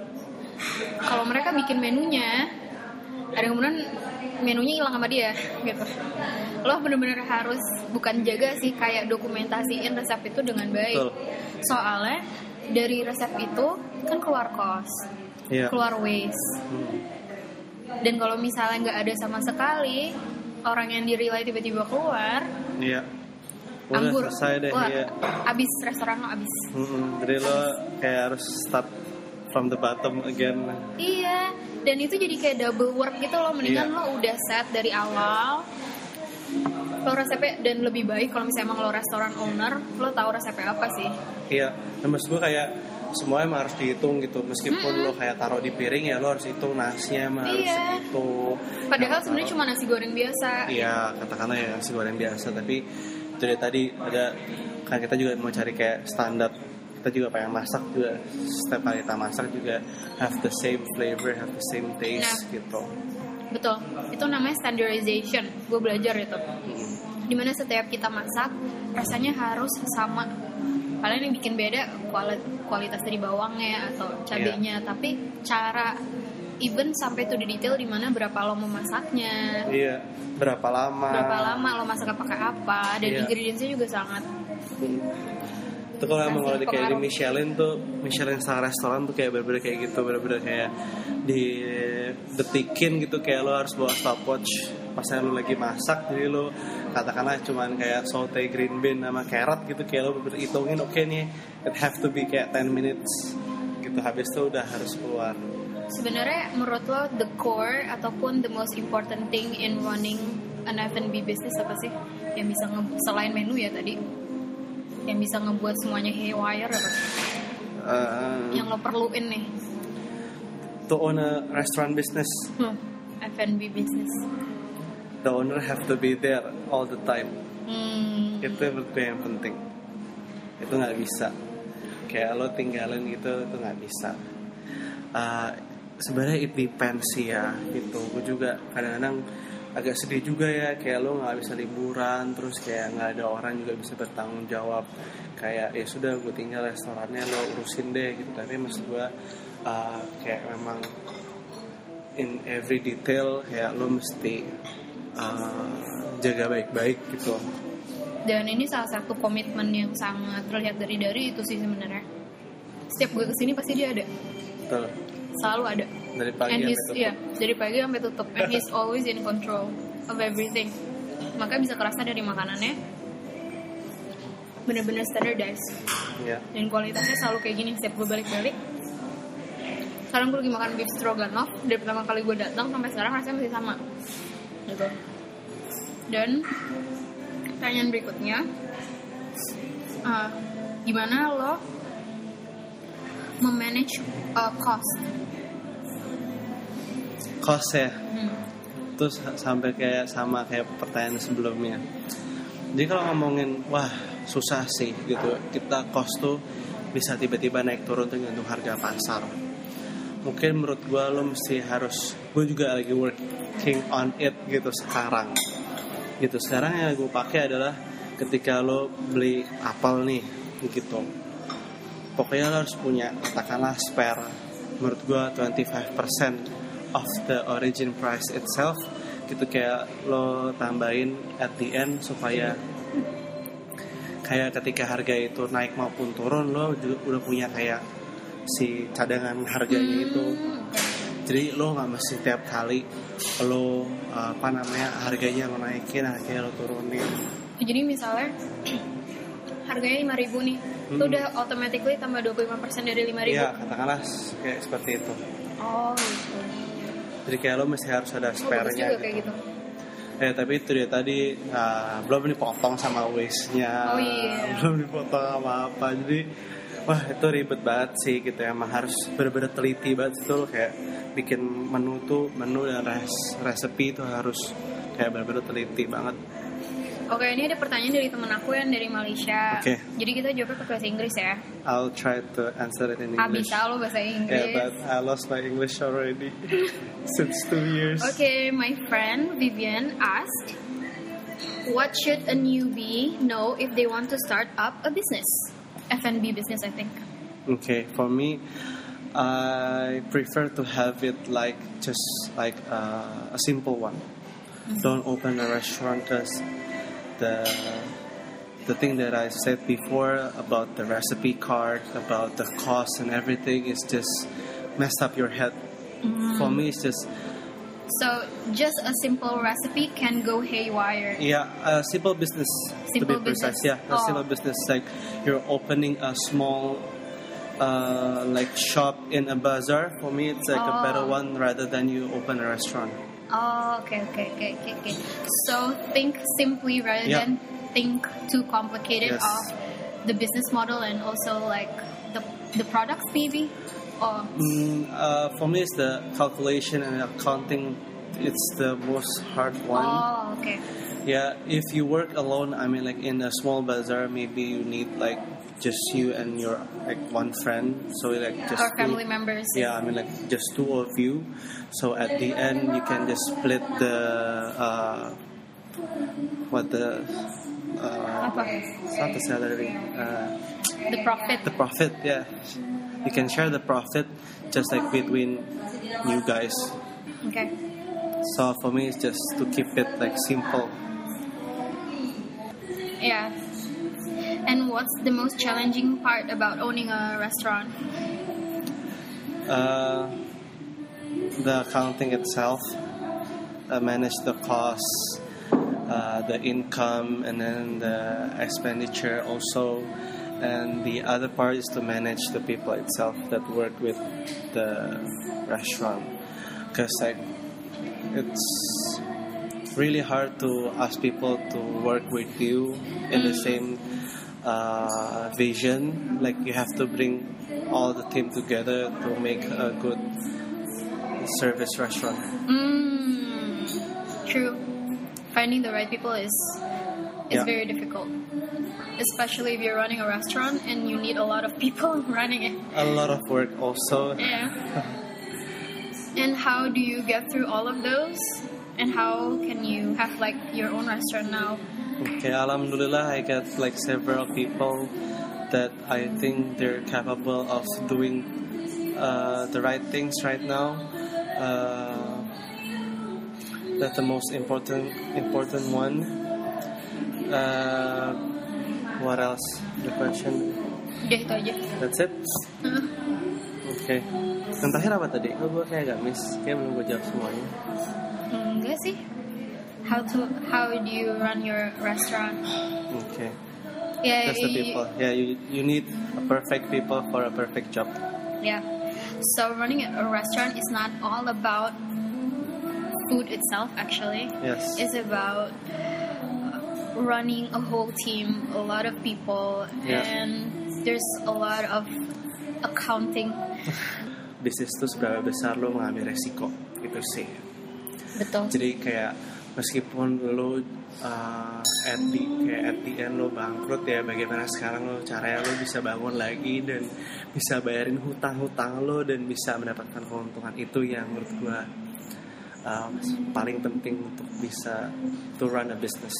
Speaker 1: kalau mereka bikin menunya, ada kemudian menunya hilang sama dia gitu. Lo bener-bener harus bukan jaga sih, kayak dokumentasiin resep itu dengan baik. Soalnya dari resep itu kan keluar cost, keluar waste. Dan kalau misalnya nggak ada sama sekali, orang yang di-relay tiba-tiba keluar,
Speaker 2: Udah
Speaker 1: anggur.
Speaker 2: selesai deh,
Speaker 1: Wah,
Speaker 2: iya.
Speaker 1: abis restoran lo abis.
Speaker 2: Jadi lo kayak harus start from the bottom again.
Speaker 1: Iya, dan itu jadi kayak double work gitu loh. Mendingan lo udah set dari awal, lo resepnya, dan lebih baik kalau misalnya emang lo restoran owner, lo tahu resepnya apa sih.
Speaker 2: Iya, dan maksud gue kayak semuanya emang harus dihitung gitu. Meskipun lo kayak taruh di piring ya lo harus hitung nasinya emang harus segitu.
Speaker 1: Padahal sebenarnya cuma nasi goreng biasa.
Speaker 2: Iya, katakanlah ya nasi goreng biasa. Tapi itu dari tadi ada, kan kita juga mau cari kayak standar. Kita juga pengen masak juga, setiap kali kita masak juga have the same flavor, have the same taste gitu.
Speaker 1: Betul, itu namanya standardization. Gue belajar itu. Dimana setiap kita masak rasanya harus sama. Paling yang bikin beda kualitas dari bawangnya atau cabenya, tapi cara even sampai tuh di detail dimana berapa lo mau masaknya.
Speaker 2: Iya, berapa lama
Speaker 1: lo masak pakai apa, dan ingredientsnya juga sangat.
Speaker 2: Itu kalau di kayak di Michelin star restoran tuh kayak bener-bener kayak gitu, bener-bener kayak di detikin gitu, kayak lo harus bawa stopwatch pas lo lagi masak. Jadi lo katakanlah cuman kayak saute green bean sama carrot gitu, kayak lo bener-bener hitungin oke nih it have to be kayak 10 minutes gitu, habis itu udah harus keluar.
Speaker 1: Sebenarnya menurut lo the core ataupun the most important thing in running an F&B business apa sih yang bisa selain menu ya tadi, yang bisa ngebuat semuanya haywire apa sih? Yang lo perluin nih
Speaker 2: to own a restaurant business,
Speaker 1: F&B business,
Speaker 2: the owner have to be there all the time. Itu menurut gue yang penting. Itu nggak bisa kayak lo tinggalin gitu, itu nggak bisa. Sebenarnya it depends sih ya gitu. Gue juga kadang-kadang agak sedih juga ya, kayak lo nggak bisa liburan, terus kayak nggak ada orang juga bisa bertanggung jawab. Kayak ya sudah gue tinggal restorannya, lo urusin deh gitu. Tapi maksud gue kayak memang in every detail kayak lo mesti jaga baik-baik gitu.
Speaker 1: Dan ini salah satu komitmen yang sangat terlihat dari itu sih sebenarnya. Setiap gue kesini pasti dia ada.
Speaker 2: Betul.
Speaker 1: Selalu ada.
Speaker 2: Dari pagi sampai tutup.
Speaker 1: Iya, dari pagi sampai tutup. And he's always in control of everything. Makanya bisa kerasa dari makanannya bener-bener standardized.
Speaker 2: Iya.
Speaker 1: Dan kualitasnya selalu kayak gini setiap gue balik-balik. Sekarang gue lagi makan beef stroganoff. Dari pertama kali gue datang sampai sekarang rasanya masih sama. Gitu. Dan pertanyaan berikutnya, gimana lo memanage cost ya? Terus sampai kayak sama kayak pertanyaan sebelumnya. Jadi kalau ngomongin wah susah sih gitu, kita cost tuh bisa tiba-tiba naik turun tergantung harga pasar. Mungkin menurut gue lo mesti harus, gue juga lagi working on it gitu sekarang. Gitu sekarang yang gue pakai adalah ketika lo beli apel nih gitu, pokoknya lo harus punya katakanlah spare, menurut gue 25% of the origin price itself gitu, kayak lo tambahin at the end supaya kayak ketika harga itu naik maupun turun lo juga udah punya kayak si cadangan harganya itu. Jadi lo nggak mesti tiap kali lo harganya lo naikin, harganya lo turunin. Jadi misalnya harganya 5.000 nih, lo udah automatically tambah 25% dari 5.000.
Speaker 2: Iya, katakanlah kayak seperti itu.
Speaker 1: Oh gitu.
Speaker 2: Jadi kayak lo mesti harus ada spare-nya
Speaker 1: gitu. Kayak gitu.
Speaker 2: Tapi itu dia tadi belum dipotong sama waste-nya, belum dipotong sama apa. Jadi wah itu ribet banget sih gitu. Emang harus bener-bener teliti banget itu, kayak bikin menu dan resepi itu harus kayak bener-bener teliti banget.
Speaker 1: Oke, ini ada pertanyaan dari temen aku yang dari Malaysia.
Speaker 2: Okay.
Speaker 1: Jadi kita jawabnya pakai bahasa Inggris ya.
Speaker 2: I'll try to answer it in English.
Speaker 1: Bisa lo bahasa Inggris.
Speaker 2: Yeah, but I lost my English already since 2 years.
Speaker 1: Okay, my friend Vivian asked, what should a newbie know if they want to start up a business? F&B business, I think.
Speaker 2: Okay, for me, I prefer to have it just like a simple one. Don't open a restaurant because the thing that I said before about the recipe card, about the cost and everything is just messed up your head. For me, it's just
Speaker 1: So just a simple recipe can go haywire.
Speaker 2: Yeah, simple business
Speaker 1: Simple
Speaker 2: to be precise.
Speaker 1: business.
Speaker 2: Yeah, a simple business like you're opening a small like shop in a bazaar. For me, it's like a better one rather than you open a restaurant.
Speaker 1: Oh, okay. So think simply rather than think too complicated
Speaker 2: Yes.
Speaker 1: of the business model and also like the products maybe. Or
Speaker 2: For me, it's the calculation and accounting. It's the most hard one.
Speaker 1: oh, okay.
Speaker 2: Yeah, if you work alone, I mean, like in a small bazaar, maybe you need like just you and your like one friend. So like just
Speaker 1: Or
Speaker 2: two-
Speaker 1: family members.
Speaker 2: Yeah, I mean like just two of you. So at the end, you can just split the
Speaker 1: Apa?
Speaker 2: it's not the salary.
Speaker 1: The profit.
Speaker 2: The profit, yeah. You can share the profit just like between you guys.
Speaker 1: Okay.
Speaker 2: So for me, it's just to keep it like simple.
Speaker 1: Yeah. And what's the most challenging part about owning a restaurant?
Speaker 2: The accounting itself, manage the costs, the income, and then the expenditure also. And the other part is to manage the people itself that work with the restaurant, because like it's really hard to ask people to work with you in the same vision. Like you have to bring all the team together to make a good service restaurant.
Speaker 1: True. Finding the right people is
Speaker 2: Yeah.
Speaker 1: very difficult, especially if you're running a restaurant and you need a lot of people running it.
Speaker 2: A lot of work also.
Speaker 1: Yeah. And how do you get through all of those? And how can you have like your own restaurant now?
Speaker 2: Okay, alhamdulillah, I get like several people that I think they're capable of doing the right things right now. That's the most important one. What else? The question.
Speaker 1: Udah itu aja.
Speaker 2: That's it. Okay. Yang terakhir apa tadi? Gue kayak agak miss. Kayak belum gue jawab semuanya.
Speaker 1: Enggak sih. How do you run your restaurant?
Speaker 2: Okay.
Speaker 1: Yeah,
Speaker 2: That's the people. Yeah, you need a perfect people for a perfect job.
Speaker 1: Yeah. So running a restaurant is not all about food itself. Actually,
Speaker 2: Yes.
Speaker 1: it's about running a whole team, a lot of people,
Speaker 2: Yeah.
Speaker 1: and there's a lot of accounting.
Speaker 2: Bisnis itu seberapa besar lo mengambil resiko gitu sih.
Speaker 1: Betul.
Speaker 2: Jadi kayak meskipun lo at the end lo bangkrut, ya bagaimana sekarang lo caranya lo bisa bangun lagi dan bisa bayarin hutang-hutang lo dan bisa mendapatkan keuntungan, itu yang menurut gua paling penting untuk bisa to run a business.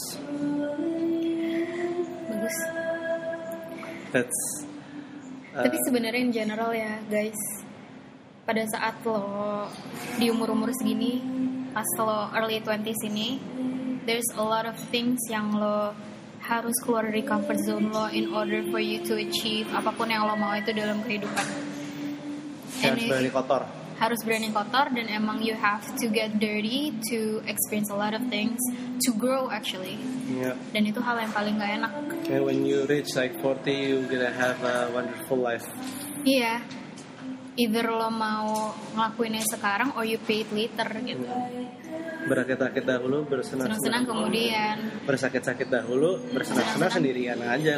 Speaker 1: Bagus.
Speaker 2: That's
Speaker 1: Tapi sebenarnya in general ya guys, pada saat lo di umur-umur segini, pas lo early 20s ini, there's a lot of things yang lo harus keluar dari comfort zone lo in order for you to achieve apapun yang lo mau itu dalam kehidupan.
Speaker 2: harus berani kotor.
Speaker 1: Harus berani kotor, dan emang you have to get dirty to experience a lot of things, to grow actually.
Speaker 2: Yeah.
Speaker 1: Dan itu hal yang paling gak enak.
Speaker 2: And when you reach like 40, you're gonna have a wonderful life.
Speaker 1: Iya, either lo mau ngelakuinnya sekarang or you pay it later gitu.
Speaker 2: Berakit-rakit dahulu, bersenang-senang
Speaker 1: Senang-senang kemudian.
Speaker 2: bersakit-sakit dahulu, bersenang-senang sendirian aja.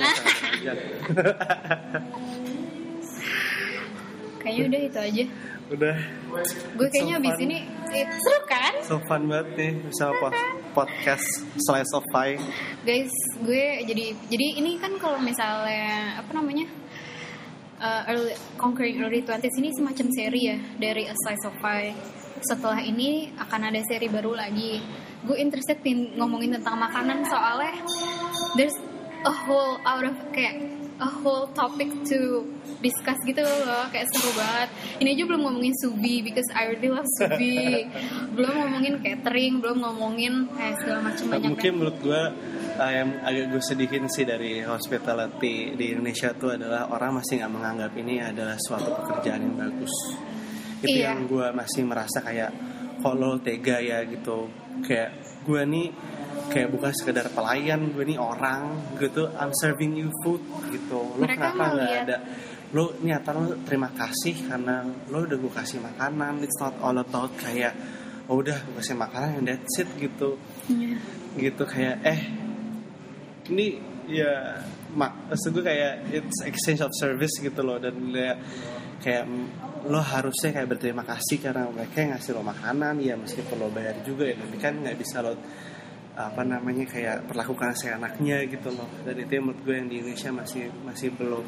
Speaker 1: Kayaknya udah itu aja.
Speaker 2: Udah.
Speaker 1: Gue kayaknya
Speaker 2: So
Speaker 1: abis
Speaker 2: fun.
Speaker 1: ini seru kan?
Speaker 2: So fun banget nih bersama podcast Slice of Pie.
Speaker 1: Guys, gue jadi ini kan kalau misalnya apa namanya? Conquering Early 20s ini semacam seri ya dari A Slice of Pie. Setelah ini akan ada seri baru lagi. Gue interested ngomongin tentang makanan, soalnya there's a whole topic to discuss gitu loh, kayak seru banget. Ini aja belum ngomongin subi because I really love subi. Belum ngomongin catering, belum ngomongin segala macam banyak.
Speaker 2: Mungkin menurut gue yang agak gue sedihin sih dari hospitality di Indonesia tuh adalah orang masih nggak menganggap ini adalah suatu pekerjaan yang bagus. Itu
Speaker 1: Iya.
Speaker 2: yang gue masih merasa kayak kok lo tega ya gitu. Kayak gue nih kayak bukan sekedar pelayan, gue nih orang gitu, I'm serving you food gitu. Lo
Speaker 1: Mereka
Speaker 2: kenapa nggak
Speaker 1: ngeliat-
Speaker 2: ada lo niatan lo terima kasih karena lo udah gue kasih makanan. It's not all about kayak oh udah gue kasih makanan and that's it gitu.
Speaker 1: Iya.
Speaker 2: Gitu kayak ini ya maksud gue kayak it's exchange of service gitu loh. Dan kayak lo harusnya kayak berterima kasih karena mereka yang ngasih lo makanan ya, meskipun lo bayar juga ya, tapi kan nggak bisa lo kayak perlakukan seenaknya gitu loh. Dan itu yang menurut gue yang di Indonesia masih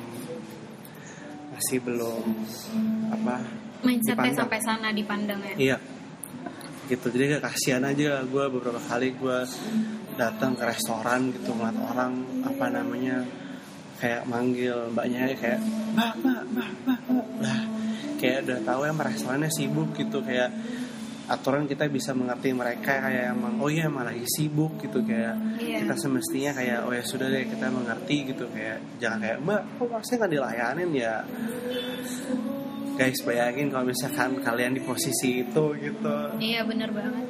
Speaker 2: belum
Speaker 1: Mindsetnya
Speaker 2: dipandang.
Speaker 1: sampai sana dipandang ya.
Speaker 2: Iya gitu. Jadi kayak kasihan aja gue beberapa kali gue datang ke restoran gitu ngeliat orang kayak manggil mbaknya kayak mbak lah, kayak udah tahu ya restorannya sibuk gitu. Kayak aturan kita bisa mengerti mereka kayak emang oh iya emang lagi sibuk gitu. Kayak kita semestinya kayak oh ya sudah deh kita mengerti gitu. Kayak jangan kayak mbak kok masih nggak dilayanin ya. Guys bayangin kalau misalkan kalian di posisi itu gitu.
Speaker 1: Iya benar banget.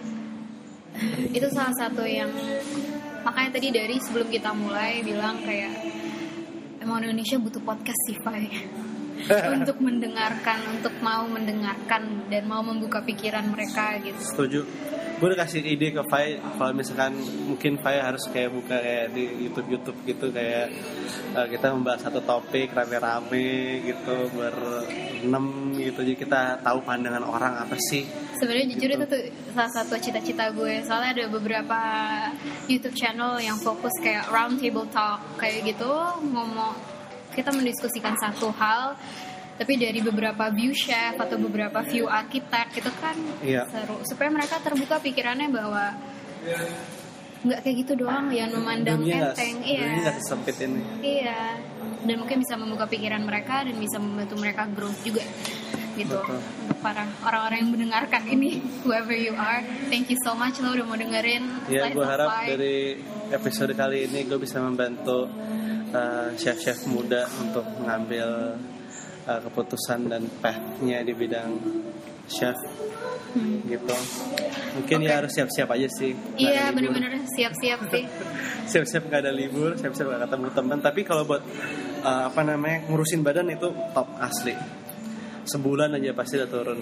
Speaker 1: Itu salah satu yang makanya tadi dari sebelum kita mulai bilang kayak emang Indonesia butuh podcast sih Fai. Untuk mendengarkan, untuk mau mendengarkan dan mau membuka pikiran mereka gitu.
Speaker 2: Setuju. Gue udah kasih ide ke Fai kalau misalkan mungkin Fai harus kayak buka kayak di YouTube gitu kayak kita membahas satu topik rame-rame gitu berenam gitu, jadi kita tahu pandangan orang apa sih.
Speaker 1: Sebenarnya
Speaker 2: gitu.
Speaker 1: jujur itu tuh salah satu cita-cita gue. Soalnya ada beberapa YouTube channel yang fokus kayak round table talk kayak gitu, kita mendiskusikan satu hal tapi dari beberapa view chef atau beberapa view arsitek gitu kan.
Speaker 2: Iya.
Speaker 1: Seru supaya mereka terbuka pikirannya bahwa nggak kayak gitu doang yang memandang enteng.
Speaker 2: Dunia nggak sesempit ini.
Speaker 1: Iya, dan mungkin bisa membuka pikiran mereka dan bisa membantu mereka growth juga gitu.
Speaker 2: Betul.
Speaker 1: Untuk para orang-orang yang mendengarkan ini, whoever you are, thank you so much lo udah mau dengerin.
Speaker 2: Ya, gue harap
Speaker 1: Life.
Speaker 2: dari episode kali ini gue bisa membantu chef-chef muda untuk mengambil keputusan dan path-nya di bidang chef gitu. Mungkin ya harus siap-siap aja sih.
Speaker 1: Iya benar-benar siap-siap sih.
Speaker 2: Siap-siap nggak ada libur, siap-siap nggak ketemu teman. Tapi kalau buat ngurusin badan itu top asli. Sebulan aja pasti udah turun.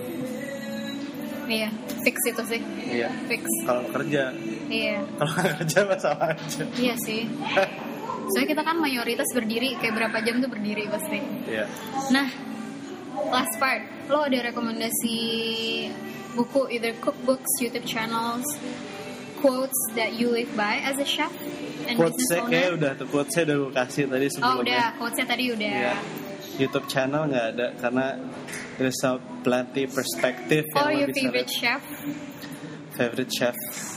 Speaker 1: Iya, fix itu sih.
Speaker 2: Iya.
Speaker 1: Fix.
Speaker 2: Kalau kerja.
Speaker 1: Iya.
Speaker 2: Kalau nggak kerja masalah aja.
Speaker 1: Iya sih. Soalnya kita kan mayoritas berdiri, kayak berapa jam tuh berdiri pasti.
Speaker 2: Iya.
Speaker 1: Nah, last part, lo ada rekomendasi buku, either cookbooks, YouTube channels, quotes that you live by as a chef and business
Speaker 2: Quotes-nya
Speaker 1: owner?
Speaker 2: kayak udah tuh, quotes-nya udah gue kasih tadi sebelumnya.
Speaker 1: Oh udah, quotes-nya tadi udah.
Speaker 2: Iya. YouTube channel nggak ada karena there's a plenty perspektif
Speaker 1: Oh,
Speaker 2: yang
Speaker 1: your
Speaker 2: lo bisa
Speaker 1: favorite
Speaker 2: lihat.
Speaker 1: chef?
Speaker 2: Favorite chef.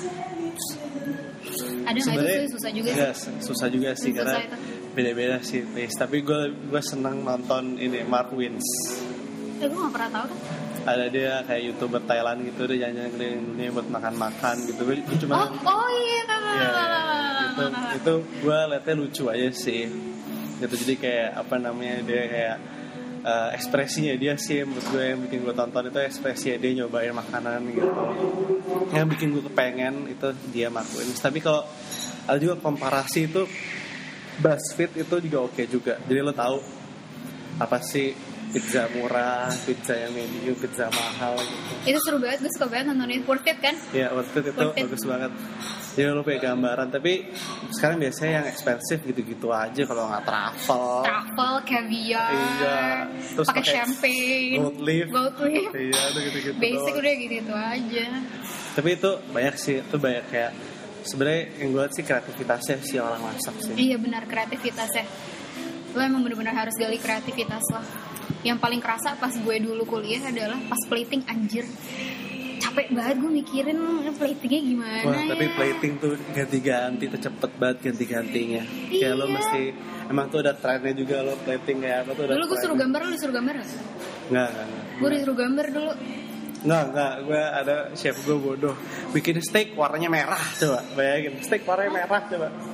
Speaker 1: Ada nggak itu susah juga?
Speaker 2: Enggak, susah juga sih
Speaker 1: Susah
Speaker 2: karena
Speaker 1: itu.
Speaker 2: beda-beda sih taste. Tapi gue seneng nonton ini Mark Wins.
Speaker 1: Gue nggak pernah tahu kan?
Speaker 2: Ada dia kayak YouTuber Thailand gitu, dia jalan-jalan keliling dunia buat makan-makan gitu. Gue cuma
Speaker 1: iya.
Speaker 2: itu gue liatnya lucu aja sih. Gitu jadi kayak dia kayak ekspresinya dia sih menurut gue yang bikin gue tonton itu ekspresinya dia nyobain makanan gitu. Yang bikin gue kepengen itu dia Mark Wins. Tapi kalau ada juga komparasi itu BuzzFeed itu juga oke juga. Jadi lo tahu apa sih pizza murah, pizza yang medium, pizza mahal gitu.
Speaker 1: Itu seru banget, gue suka banget nontonin. Worth it kan?
Speaker 2: Ya worth it itu
Speaker 1: Worth it.
Speaker 2: bagus banget. Jadi lo punya gambaran. Tapi sekarang biasanya yang expensive gitu-gitu aja kalau nggak travel,
Speaker 1: caviar,
Speaker 2: iya, terus
Speaker 1: pakai champagne,
Speaker 2: gold leaf, iya itu gitu-gitu.
Speaker 1: basic
Speaker 2: doang.
Speaker 1: udah gitu aja.
Speaker 2: Tapi itu banyak sih, itu banyak kayak sebenarnya yang gue lihat sih kreativitasnya si orang masak sih.
Speaker 1: Iya benar, kreativitasnya. Lo emang benar-benar harus gali kreativitas lo. Yang paling kerasa pas gue dulu kuliah adalah pas plating, anjir. Capek banget gue mikirin platingnya gimana.
Speaker 2: Wah, tapi
Speaker 1: ya.
Speaker 2: plating tuh ganti-ganti tuh cepet banget ganti-gantinya. Kayak lo
Speaker 1: Iya.
Speaker 2: mesti emang tuh ada trennya juga lo plating kayak apa tuh.
Speaker 1: Dulu gue suruh gambar, lo disuruh gambar gak?
Speaker 2: Enggak.
Speaker 1: Gue disuruh gambar dulu.
Speaker 2: Enggak, gue ada chef gue bodoh bikin steak warnanya merah, coba bayangin steak warnanya merah coba.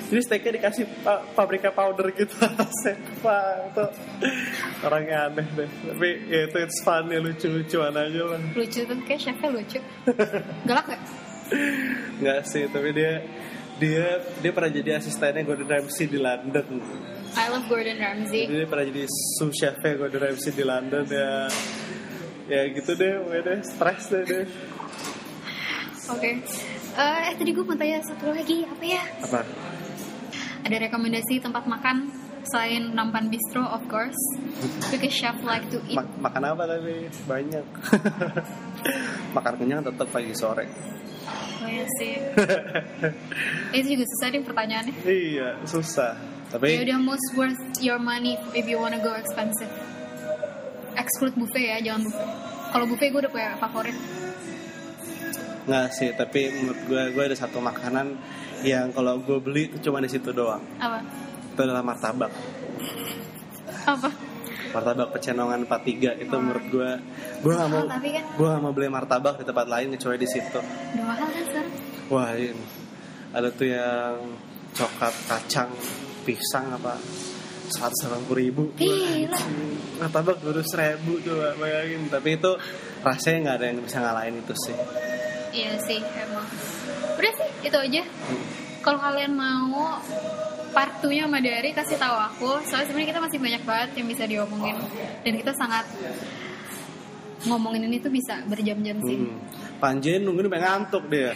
Speaker 2: Jadi steaknya dikasih paprika powder gitu atasnya. Wah, itu orangnya aneh deh. Tapi ya itu it's fun ya, lucu-lucuan aja lah.
Speaker 1: Lucu tuh, kayak chefnya lucu. Galak gak?
Speaker 2: Nggak sih, tapi dia pernah jadi asistennya Gordon Ramsay di London.
Speaker 1: I love Gordon Ramsay.
Speaker 2: Jadi dia pernah jadi sous chefnya Gordon Ramsay di London ya. Ya gitu deh, udah stres deh.
Speaker 1: Oke. Tadi gue mau tanya satu lagi, apa ya?
Speaker 2: Apa?
Speaker 1: Ada rekomendasi tempat makan selain Nampan Bistro, of course, because chef like to eat.
Speaker 2: Makan apa tadi? Banyak. Makan kenyang tetap pagi sore.
Speaker 1: Oh iya sih. Itu juga susah nih pertanyaannya.
Speaker 2: Iya, susah. Tapi
Speaker 1: ya udah, most worth your money if you wanna go expensive. Exclude buffet ya, jangan buffet. Kalau buffet gue udah punya favorit.
Speaker 2: nggak sih, tapi menurut gue ada satu makanan yang kalau gue beli itu cuma di situ doang.
Speaker 1: Apa?
Speaker 2: Itu adalah martabak.
Speaker 1: Apa?
Speaker 2: Martabak Pecenongan 43 itu menurut gue nggak mau,
Speaker 1: tapi kan
Speaker 2: gue nggak mau beli martabak di tempat lain kecuali di situ.
Speaker 1: udah mahal kan sekarang?
Speaker 2: Wah, ini ada tuh yang coklat kacang pisang apa 180.000.
Speaker 1: Gila.
Speaker 2: Martabak 200.000 tuh, bayangin. Tapi itu rasanya nggak ada yang bisa ngalahin itu sih.
Speaker 1: Iya sih, emang. Udah sih, itu aja. Kalau kalian mau part 2-nya sama Dari, kasih tahu aku. Soalnya sebenarnya kita masih banyak banget yang bisa diomongin. Dan kita sangat ngomongin ini tuh bisa berjam-jam sih.
Speaker 2: Panjen nungguin sampai ngantuk dia.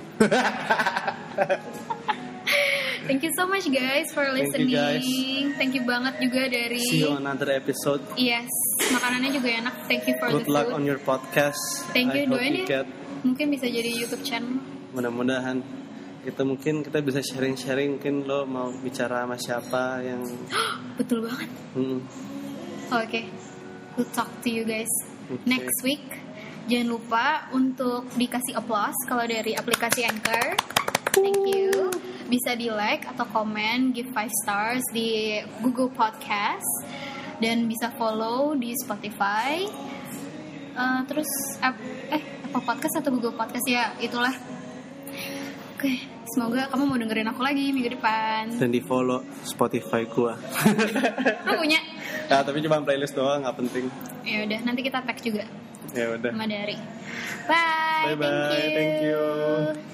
Speaker 1: Thank you so much guys for listening. Thank you banget juga dari.
Speaker 2: See you on another episode.
Speaker 1: Yes, makanannya juga enak. Thank you for
Speaker 2: Good
Speaker 1: the food.
Speaker 2: luck on your podcast.
Speaker 1: Thank you,
Speaker 2: I hope
Speaker 1: doain
Speaker 2: you
Speaker 1: ya.
Speaker 2: get.
Speaker 1: Mungkin bisa jadi YouTube channel.
Speaker 2: Mudah-mudahan itu mungkin kita bisa sharing-sharing. Mungkin lo mau bicara sama siapa yang.
Speaker 1: Betul banget. Oke. We'll talk to you guys next week. Jangan lupa untuk dikasih applause kalau dari aplikasi Anchor. Thank you. Bisa di like atau komen, give 5 stars di Google Podcast, dan bisa follow di Spotify. Terus Apple Podcast atau Google Podcast ya, itulah. Oke, semoga kamu mau dengerin aku lagi minggu depan.
Speaker 2: Dan di follow Spotify gua.
Speaker 1: Lo punya?
Speaker 2: Nah, tapi cuma playlist doang, nggak penting.
Speaker 1: Ya udah, nanti kita tag juga.
Speaker 2: Ya udah.
Speaker 1: Sama Dari. Bye.
Speaker 2: Bye bye. Thank you.